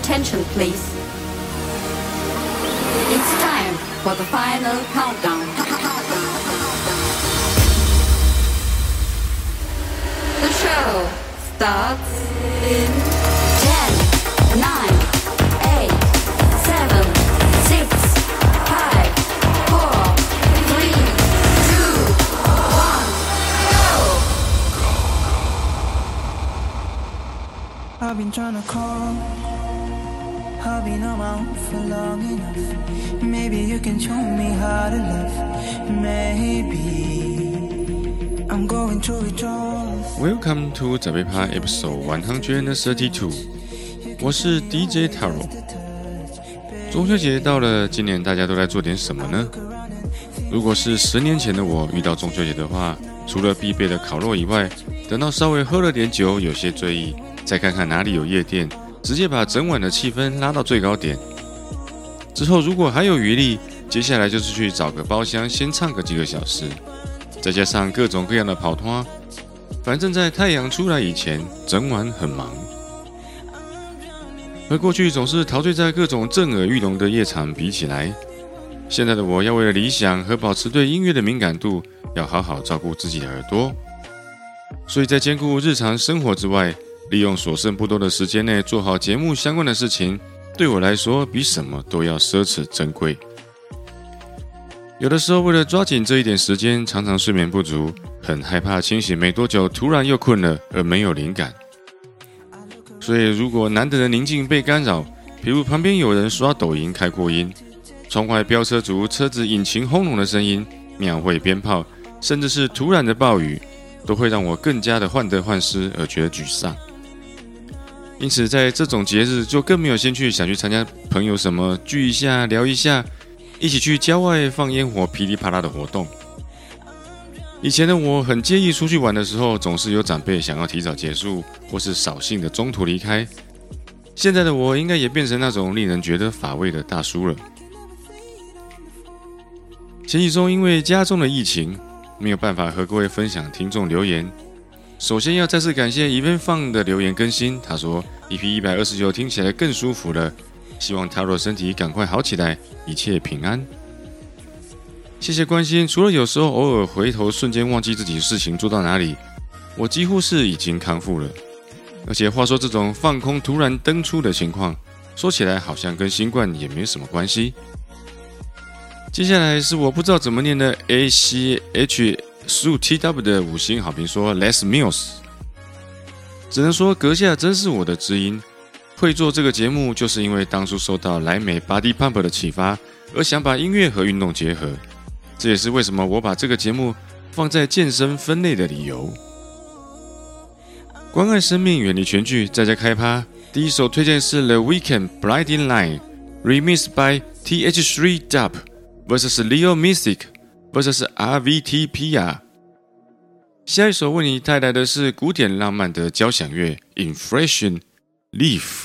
attention, please. It's time for the final countdown. The show starts in 10, 9, 8, 7, 6, 5, 4, 3, 2, 1, go! I've been trying to call, I've been around for long enough. Maybe you can show me how to love. Maybe I'm going through withdrawals. Welcome to 早被趴 episode 132。我是 DJ Taro。中秋节到了，今年大家都在做点什么呢？如果是10年前的我遇到中秋节的话，除了必备的烤肉以外，等到稍微喝了点酒，有些醉意，再看看哪里有夜店，直接把整晚的气氛拉到最高点。之后如果还有余力，接下来就是去找个包厢先唱个几个小时，再加上各种各样的跑团，反正在太阳出来以前，整晚很忙。和过去总是陶醉在各种震耳欲聋的夜场比起来，现在的我要为了理想和保持对音乐的敏感度，要好好照顾自己的耳朵。所以在兼顾日常生活之外，利用所剩不多的时间内做好节目相关的事情，对我来说比什么都要奢侈珍贵。有的时候为了抓紧这一点时间，常常睡眠不足，很害怕清醒没多久突然又困了而没有灵感。所以如果难得的宁静被干扰，比如旁边有人刷抖音开扩音，窗外飙车族车子引擎轰隆的声音，庙会鞭炮，甚至是突然的暴雨，都会让我更加的患得患失而觉得沮丧。因此在这种节日就更没有兴趣想去参加朋友什么聚一下聊一下，一起去郊外放烟火噼里啪啦的活动。以前的我很介意出去玩的时候总是有长辈想要提早结束，或是扫兴的中途离开。现在的我应该也变成那种令人觉得乏味的大叔了。前几周因为家中的疫情，没有办法和各位分享听众留言。首先要再次感谢 Event Fun 的留言更新，他说 EP 129听起来更舒服了，希望 Taro 身体赶快好起来，一切平安。谢谢关心，除了有时候偶尔回头瞬间忘记自己事情做到哪里，我几乎是已经康复了。而且话说这种放空突然登出的情况，说起来好像跟新冠也没什么关系。接下来是我不知道怎么念的 ACH15TW 的5星好评说 Les Mills， 只能说阁下真是我的知音，会做这个节目就是因为当初受到莱美 Body Pump 的启发，而想把音乐和运动结合，这也是为什么我把这个节目放在健身分类的理由。关爱生命，远离全剧，在家开趴。第一首推荐是 The Weeknd Blinding Light Remixed by TH3Dub vs Leo Mystic vs RVTPR。 下一首为你带来的是古典浪漫的交响乐 Inflation Leaf。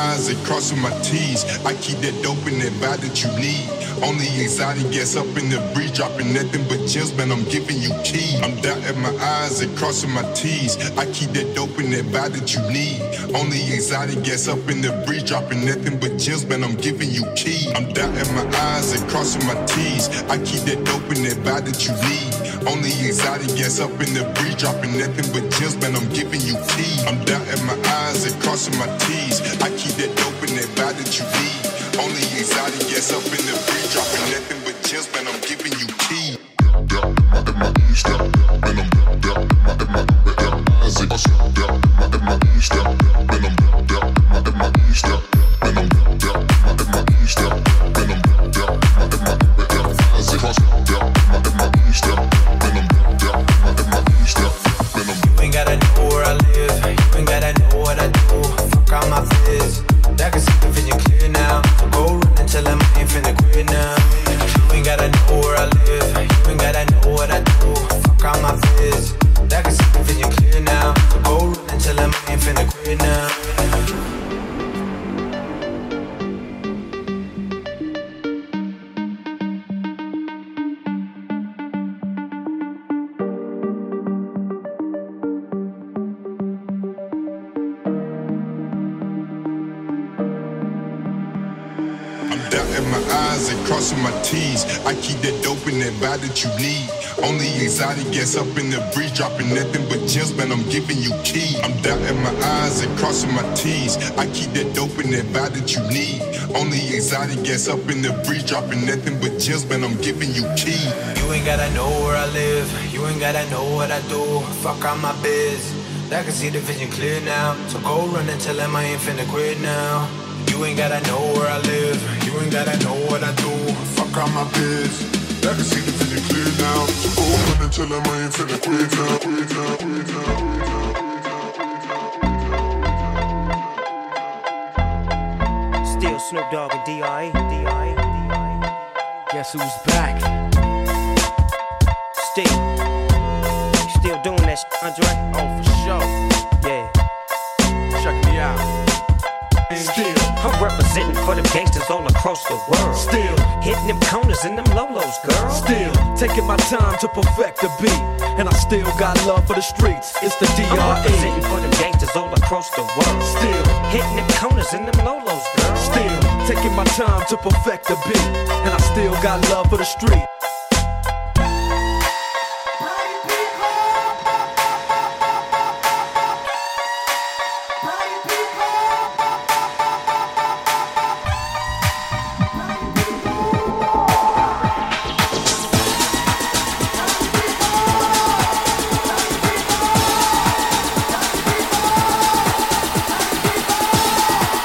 I's and crossing my T's. I keep that dope in that vibe that you need. Only exotic gas up in the breeze, dropping nothing but gems, man, I'm giving you keys. I'm dotting my I's and crossing my T's. I keep that dope in that vibe that you need. Only exotic gas up in the breeze, dropping nothing but gems, man, I'm giving you keys. I'm dotting my I's and crossing my T's. I keep that dope in that vibe that you need. Only exotic gas up in the breeze, dropping nothing but gems, man, I'm giving you keys. I'm dotting my I's and crossing my T's. I keep that dope in that vibe that you need. Only exotic gas up in the breeze, dropping nothing but gems, man, I'm giving you keys. You ain't gotta know where I live, you ain't gotta know what I do. Fuck all my fears, I can see the vision clear now. So go run and tell them I ain't finna quit now. You ain't gotta know where I live, you ain't gotta know what I do. Fuck all my fears, I can see the vision clear now. So go run and tell them I ain't finna quit now. Dotting my I's and crossing my T's. I keep that dope in that vibe that you need. Only exotic gas up in the breeze, dropping nothing but gems, man, I'm giving you keys. I'm dotting my I's and crossing my T's. I keep that dope in that vibe that you need. Only exotic gas up in the breeze, dropping nothing but gems, man, I'm giving you keys. You ain't gotta know where I live, you ain't gotta know what I do. Fuck all my biz, I can see the vision clear now. So go run and tell them I ain't finna quit now. You ain't gotta know where I live, you ain't gotta know what I do. Fuck all my biz, I can see the vision clear now. So go run and tell them I ain't finna quit now, quit now, quit now, quit now. Still Snoop Dogg and D.I. Guess who's back? Still doing that shit, Andre? Oh, for sure. Yeah. Check me out. Still, I'm representing for them gangsters all across the world. still, Hitting them corners and them lolos, girl. still taking my time to perfect the beat, and I still got love for the streets. It's the I'm representing DRE. for them gangsters all across the world. Still, Hitting them corners and them lolos, girl. still taking my time to perfect the beat, and I still got love for the street.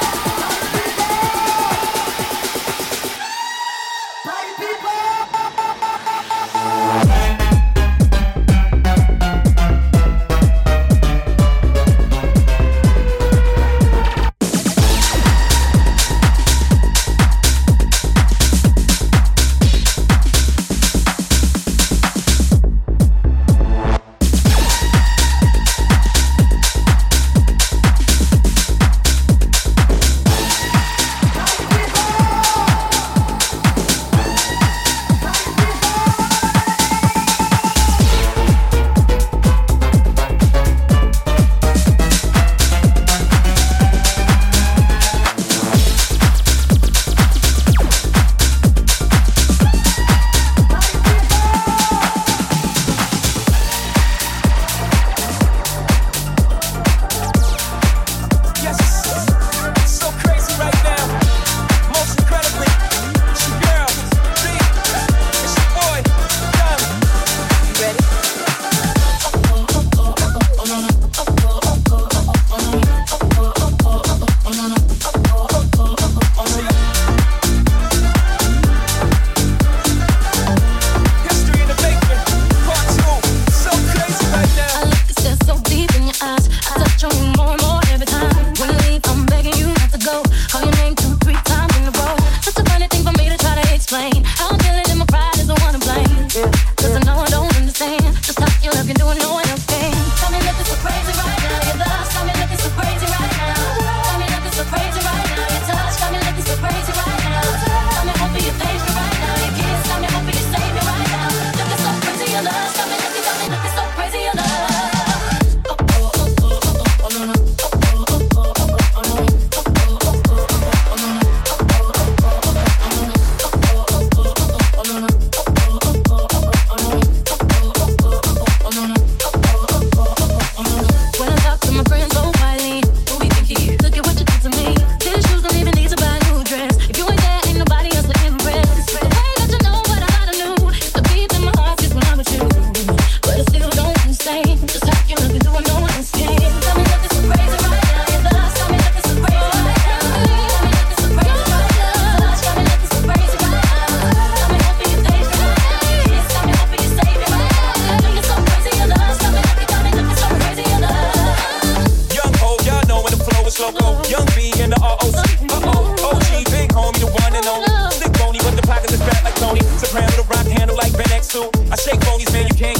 Party people!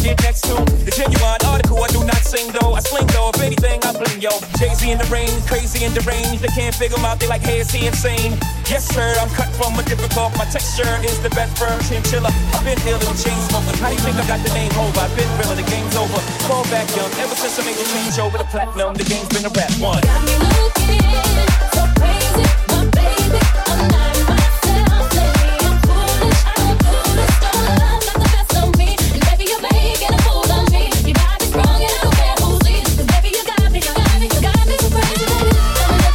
get next to. The genuine article, I do not sing though. I sling though, if anything, I bling yo. Jay-Z in the rain, crazy and deranged. They can't figure him out, they like, hey, is he insane? Yes, sir, I'm cut from a different cloth. My texture is the best firm chinchilla. I've been dealing with chain smoking. How do you think I got the name over? I've been realer, the game's over. Fall back young, ever since I made the change over the platinum, the game's been a rap one. Got me looking so crazy, my baby, I'm not myself lately. I'm foolish, don't love not the best of me. And baby, you're making a fool of me. You got me strong and I don't care who sees. 'Cause baby, you got me so crazy, baby. I'm looking so crazy right now.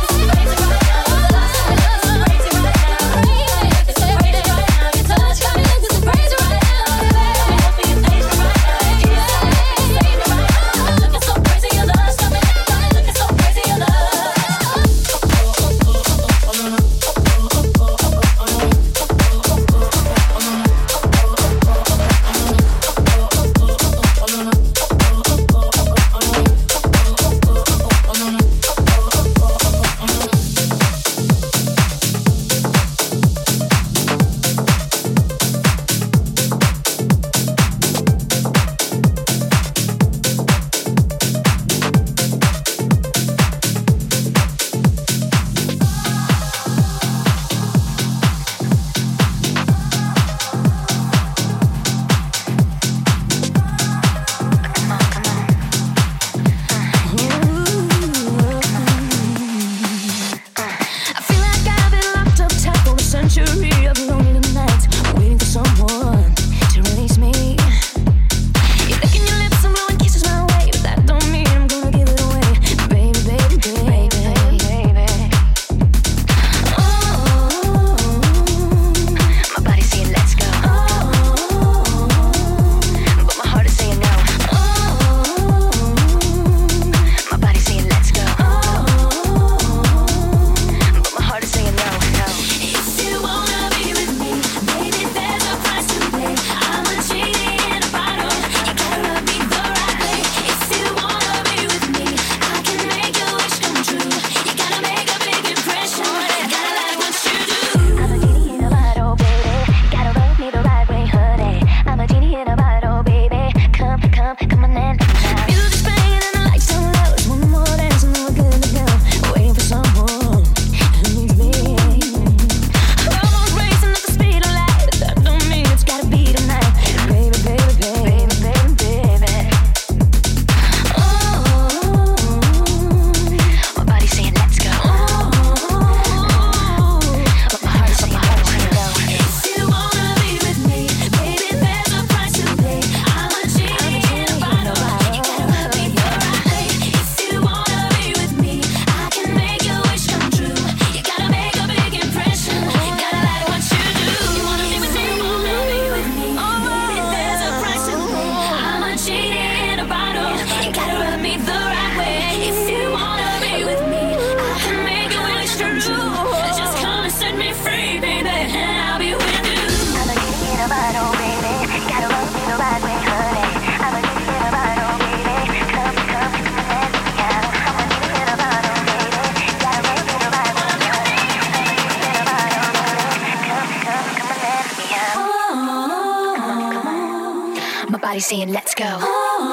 body saying let's go. But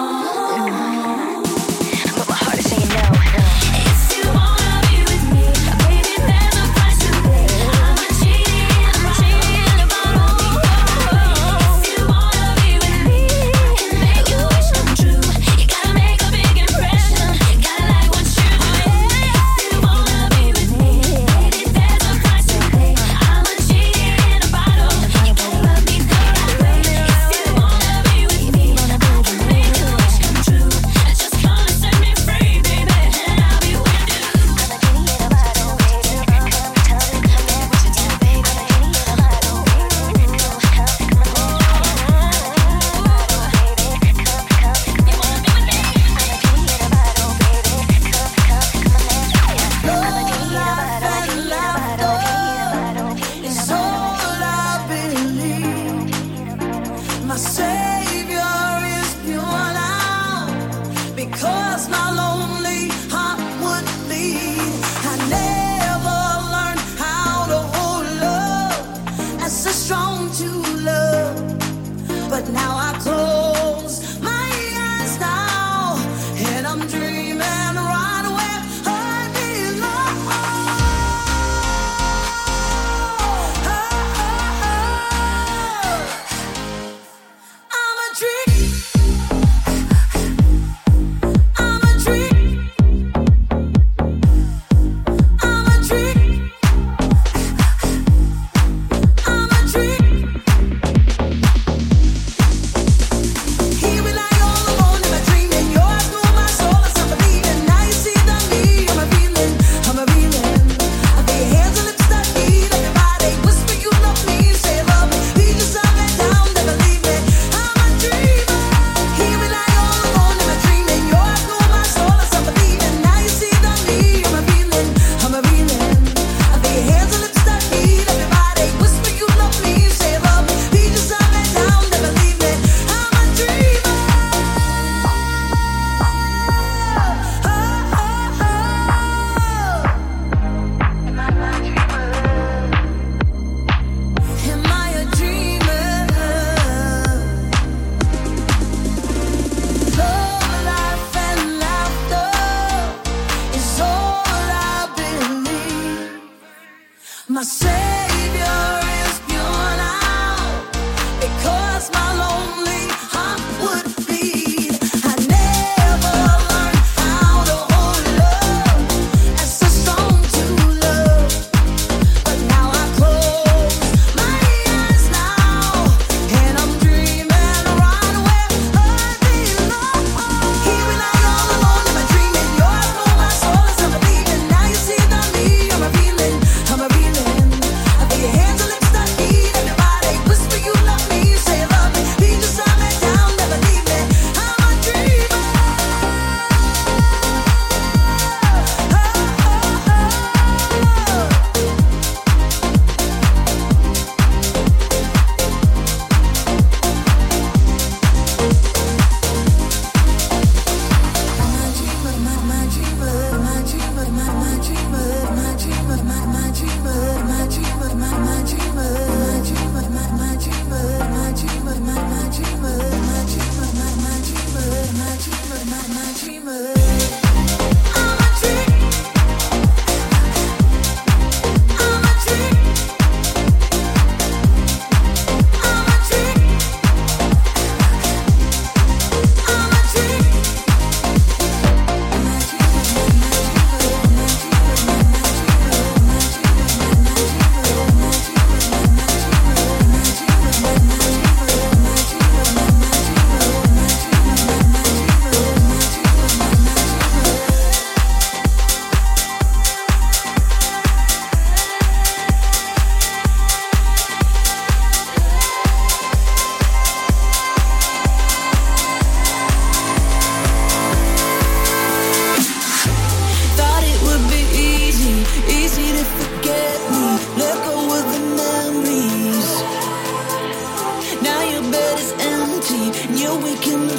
my heart is saying no. If you wanna be with me, baby, there's a price to pay. I'm a cheating about all. If you wanna be with me, I can make your wish come true. You gotta make a big impression. You gotta like what you do. If you wanna be with me, baby, there's a price to pay. I'm a cheating about all. You gotta love me the right way. If you wanna be with me, I can make your wish come true.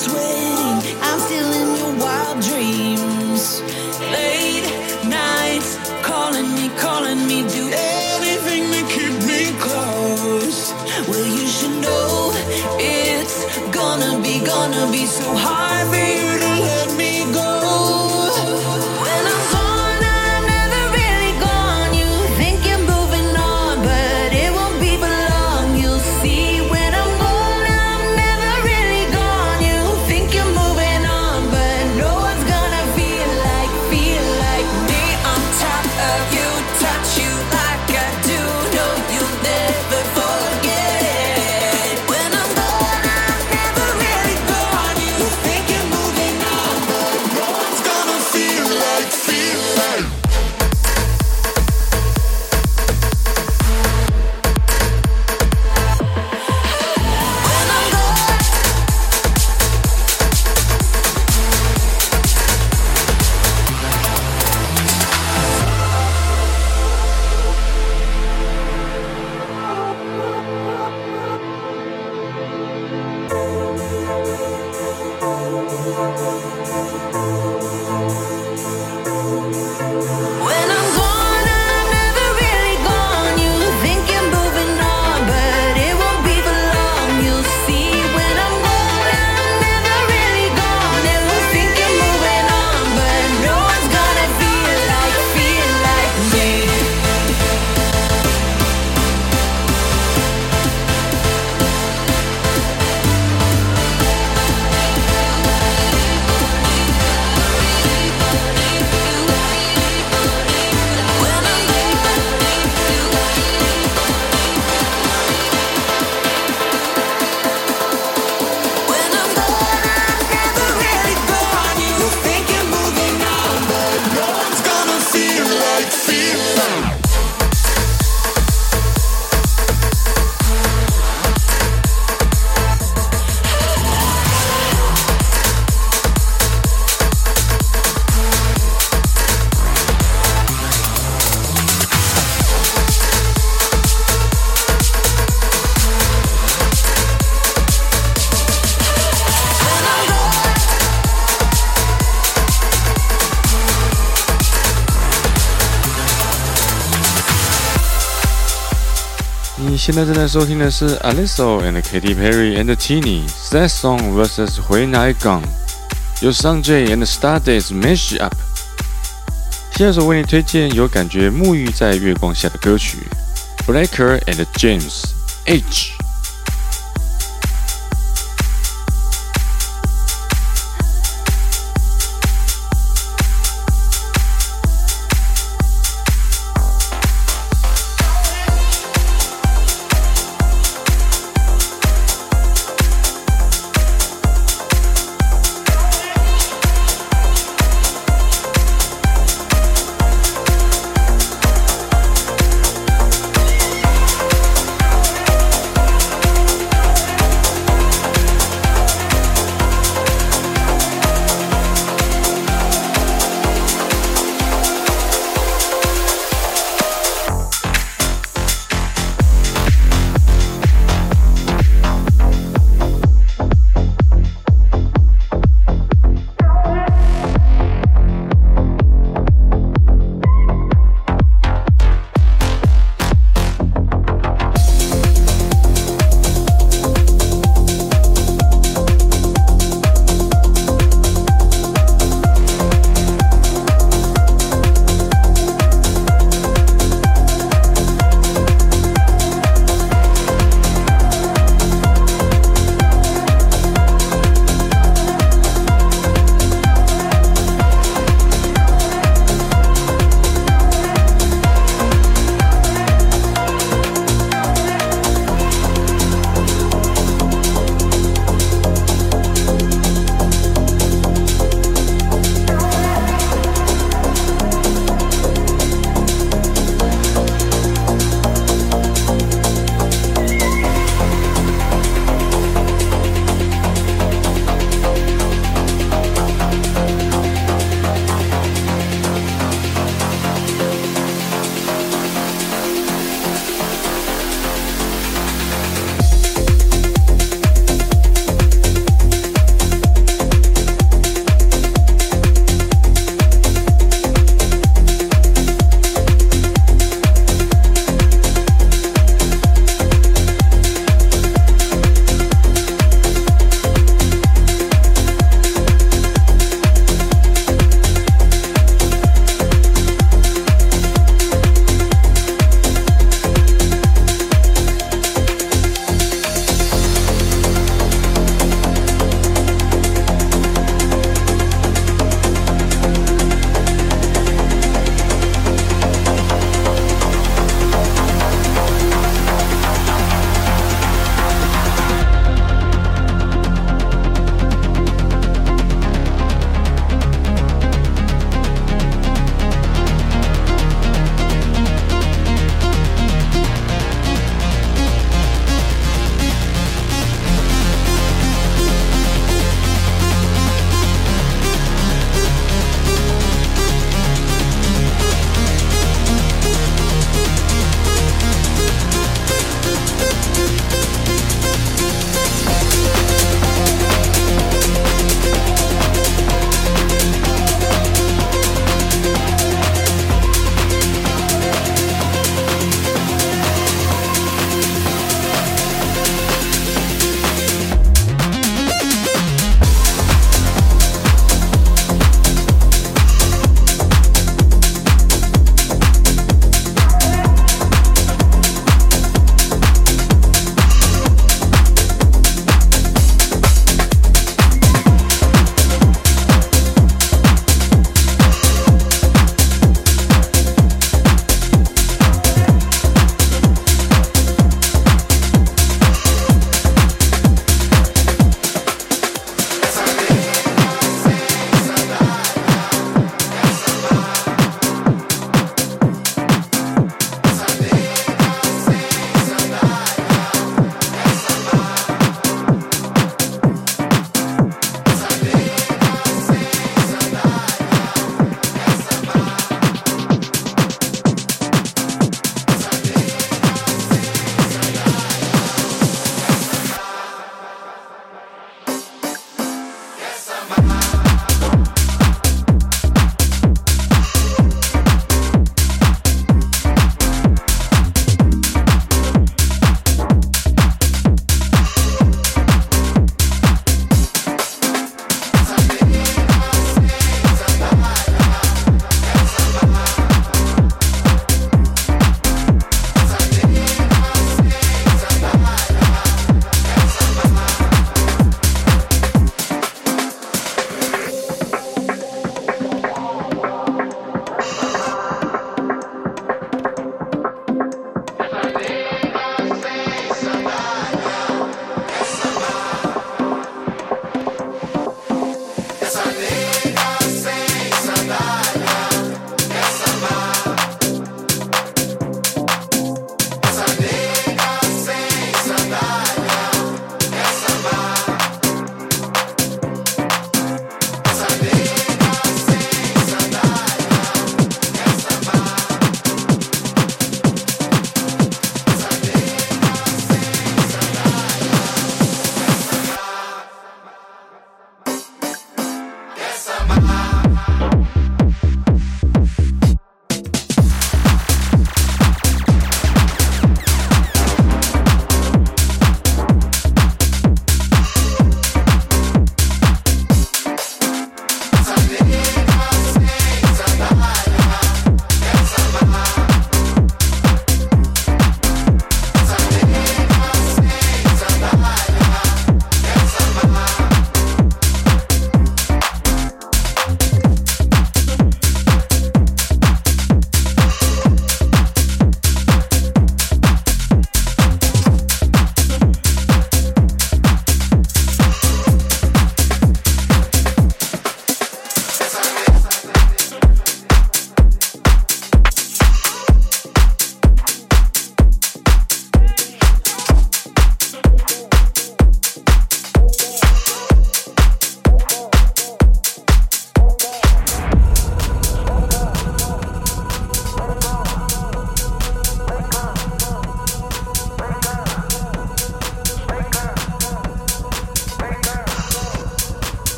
sweating. I'm still in your wild dreams. Late nights, calling me, do anything to keep me close. Well, you should know it's gonna be so hard for you to let me go. When I'm gone, I'm never really gone. You think you're moving on, but it won't be for long. You'll see when I'm gone, I'm never really gone. You think you're moving on, but no one's gonna feel like me on top of you, touch you like I do. No, you'll never forget. When I'm gone, I'm never really gone. You think you're moving on, but no one's gonna feel like. When I'm gone. When I'm gone, I'm never really gone. You think you're moving on, but it won't be for long. You'll see when I'm gone, I'm never really gone. And we'll think you're moving on, but no one's gonna feel like me. When I'm When I'm gone, I'm never really gone. You think you're moving on, but no one's gonna feel like. 你现在正在收听的是 Alesso and Katy Perry and Tini Sad Song vs When I Gone， 由 Sanjay and Stardust Mash Up。下首为你推荐有感觉沐浴在月光下的歌曲 Blacker and James H。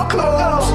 clothes.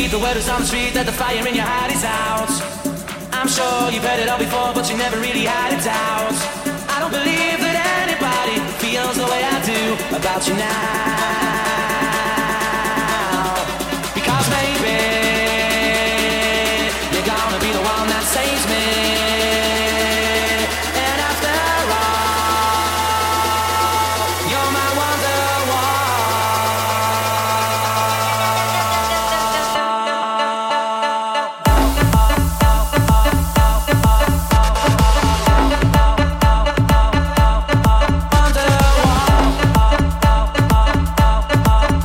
believe the word is on the street that the fire in your heart is out. I'm sure you've heard it all before, but you never really had a doubt. I don't believe that anybody feels the way I do about you now. Because maybe you're gonna be the one that saves me. And after all, you're my Wonderwall.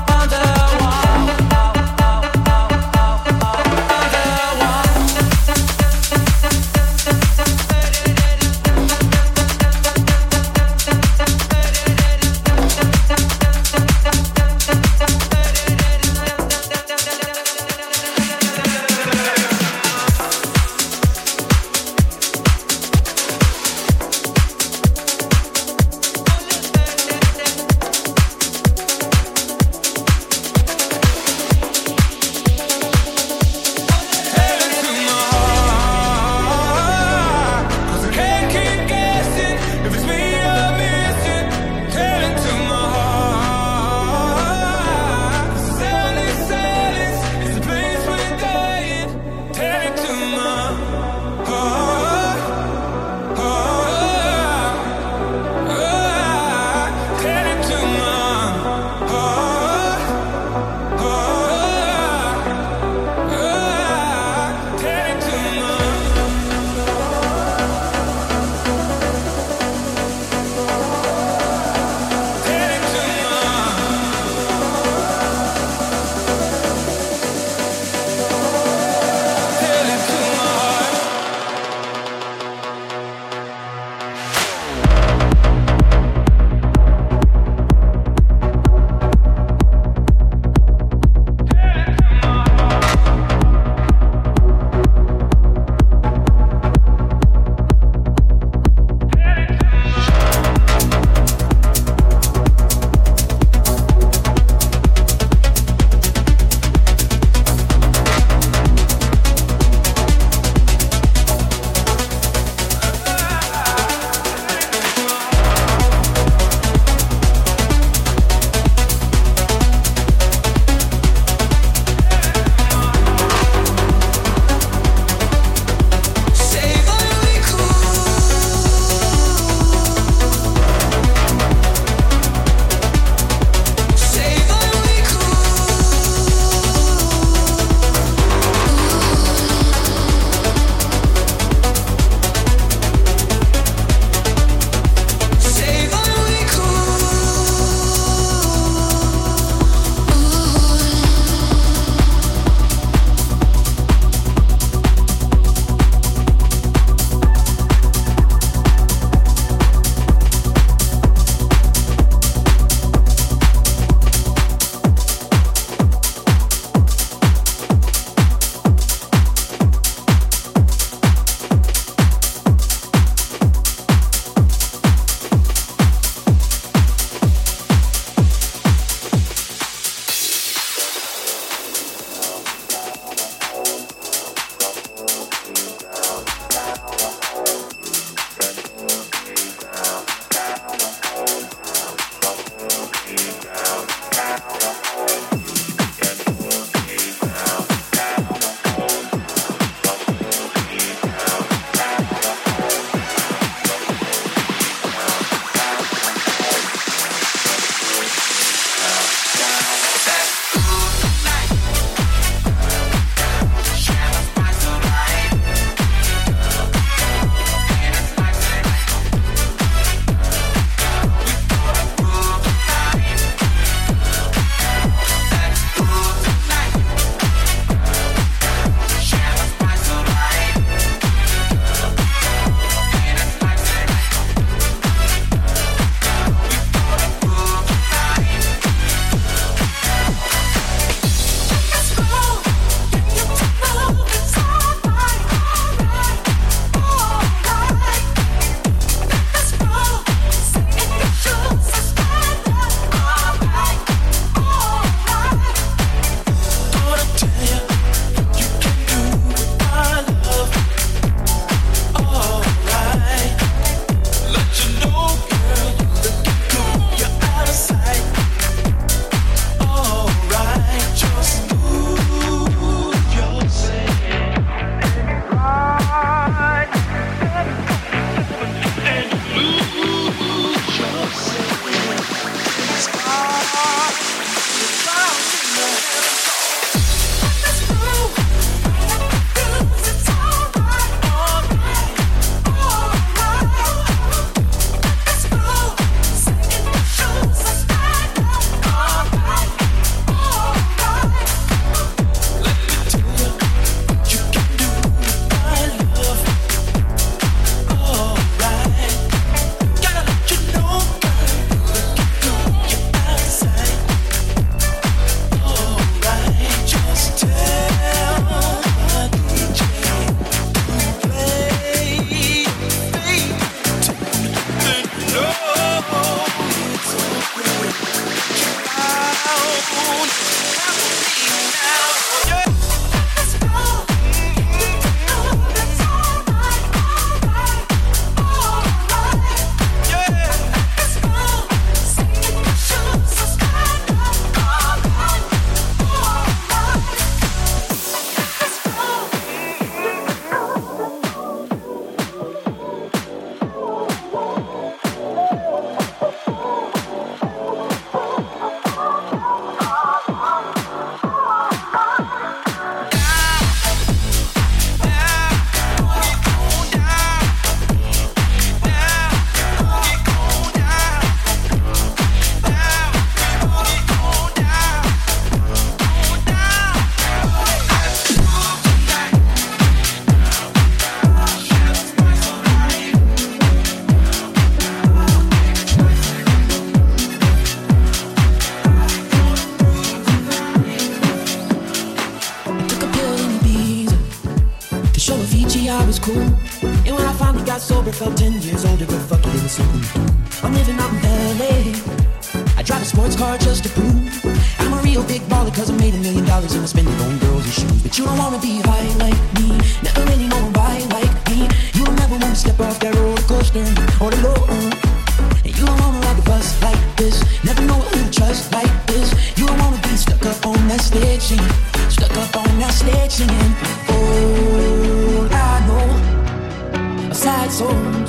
was cool. And when I finally got sober, felt 10 years older, but fuck it, it was something to do. I'm living out in LA. I drive a sports car just to prove I'm a real big baller, cause I made $1 million and I spend it on girls and shoes. But you don't wanna be high like me, never really know why like me. You don't ever wanna step off that roller coaster or the low. And you don't wanna ride the bus like this, never know who to trust like this. You don't wanna be stuck up on that stage singing, stuck up on that stage singing. Oh, I know sad souls,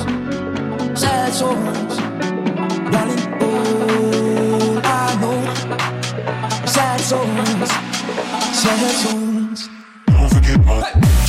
darling. Oh, I know sad souls. Don't forget my.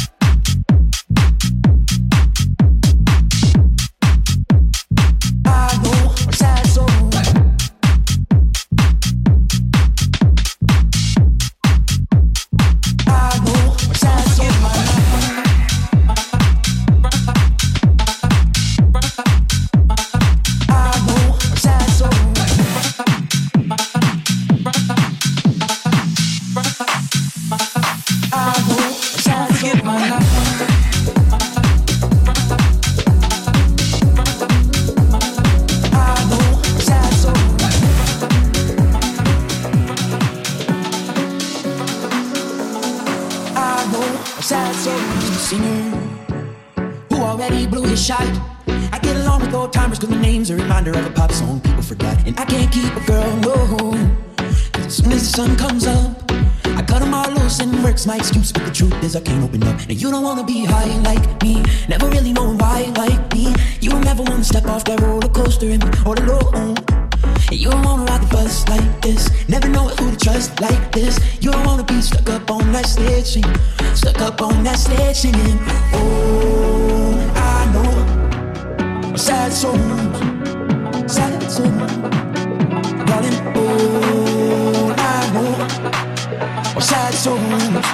My excuse, but the truth is I can't open up. And you don't wanna be high like me, never really know why like me. You don't ever wanna step off that roller coaster or the low. And you don't wanna ride the bus like this, never know who to trust like this. You don't wanna be stuck up on that stage singing, stuck up on that stage singing. Oh, I know sad souls, darling. Oh, I know sad souls.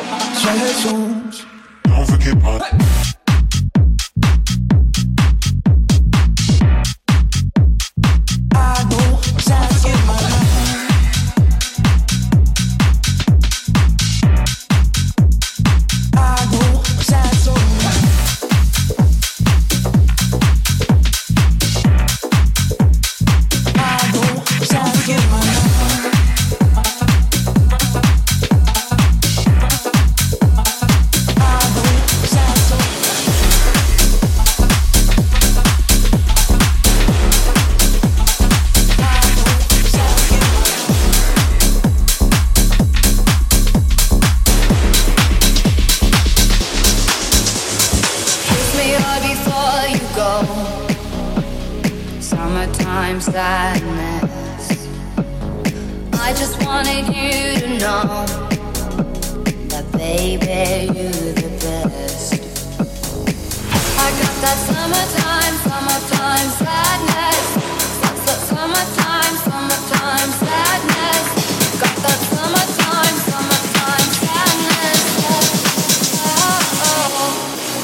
Don't forget my. I know sad souls. I know sad souls. I know sad souls. Sadness. I just wanted you to know that, baby, you're the best. I got that summertime sadness. Summertime sadness. Got that summertime sadness. Oh.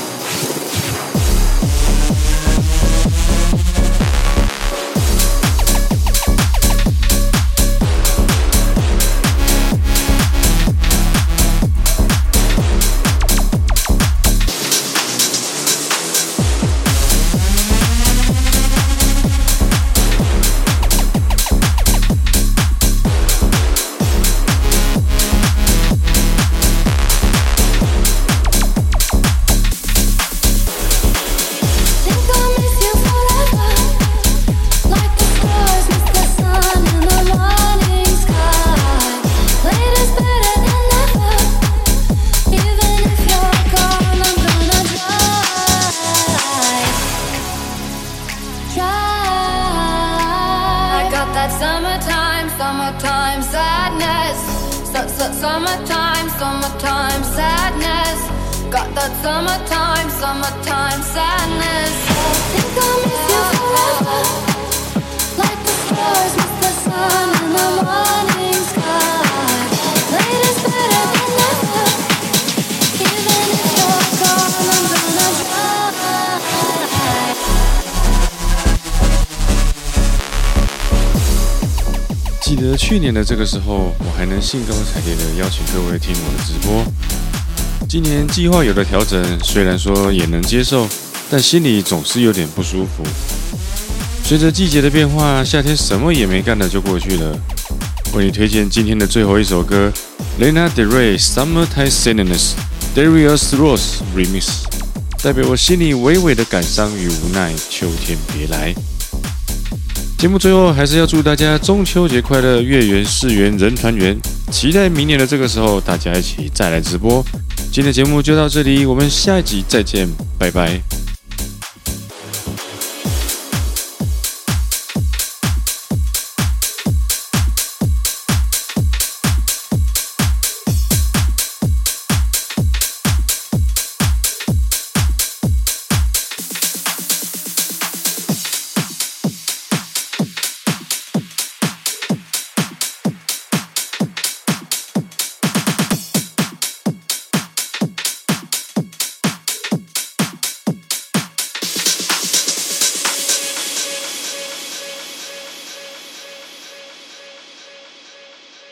Summertime sadness. Got that summertime sadness. Think I'll miss you forever, like the stars miss the sun in the morning sky. Later's better than never, even if you're gone, I'm gonna try. 记得去年的这个时候，我还能兴高采烈地邀请各位听我的直播， 今年计划有了调整，虽然说也能接受，但心里总是有点不舒服。随着季节的变化，夏天什么也没干的就过去了。为你推荐今天的最后一首歌 ，Lana Del Rey Summertime Sadness Darius Russ Remix， 代表我心里微微的感伤与无奈。秋天别来。节目最后还是要祝大家中秋节快乐，月圆世圆人团圆。期待明年的这个时候，大家一起再来直播。今天的节目就到这里，我们下一集再见，拜拜。